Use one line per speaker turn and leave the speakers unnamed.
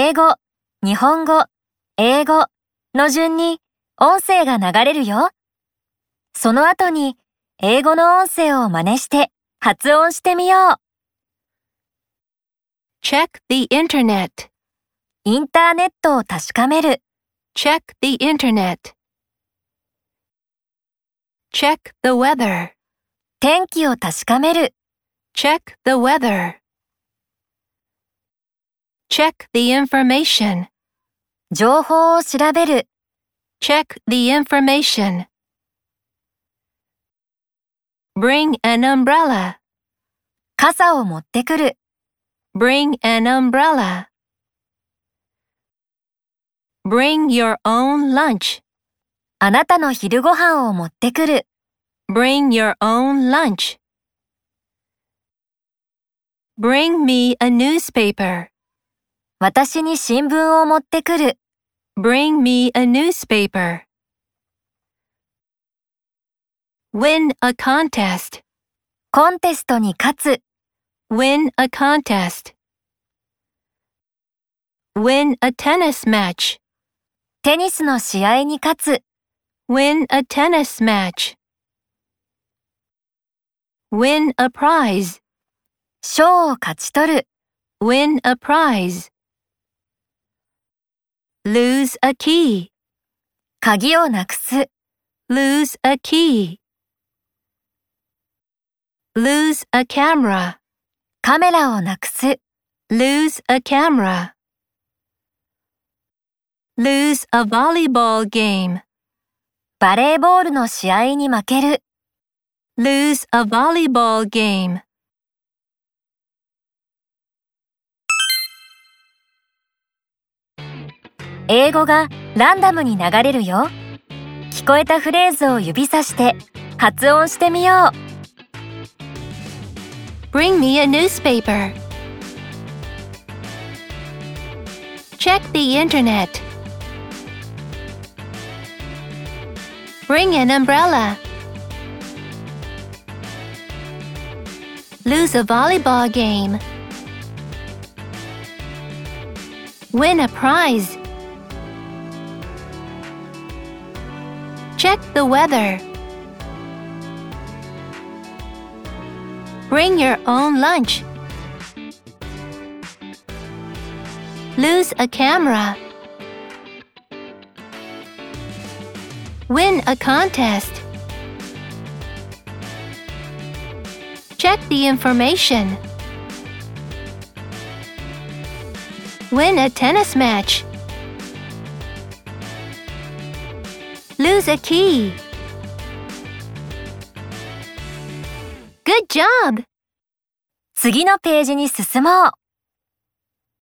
英語、日本語、英語の順に音声が流れるよ。その後に英語の音声を真似して発音してみよう。
Check the internet.
インターネットを確かめる。
Check the internet. Check the weather.
天気を確かめる。
Check the weather. Check the information.
情報を調べる。
Check the information. Bring an umbrella.
傘を持ってくる。
Bring an umbrella. Bring your own lunch.
あなたの昼ご飯を持ってくる。
Bring your own lunch. Bring me a newspaper.
私に新聞を持ってくる。
Bring me a newspaper. Win a contest.
コンテストに勝つ。
Win a contest. Win a tennis match.
テニスの試合に勝つ。
Win a tennis match. Win a prize.
賞を勝ち取る。
Win a prize. Lose a key.
鍵をなくす。
Lose a key. Lose a camera.
カメラをなくす。
Lose a camera. Lose a volleyball game.
バレーボールの試合に負ける。
Lose a volleyball game.
英語がランダムに流れるよ。聞こえたフレーズを指さして発音してみよう。
Bring me a newspaper. Check the internet. Bring an umbrella. Lose a volleyball game. Win a prize. Check the weather. Bring your own lunch. Lose a camera. Win a contest. Check the information. Win a tennis match. Lose a key. Good job!
次のページに進もう。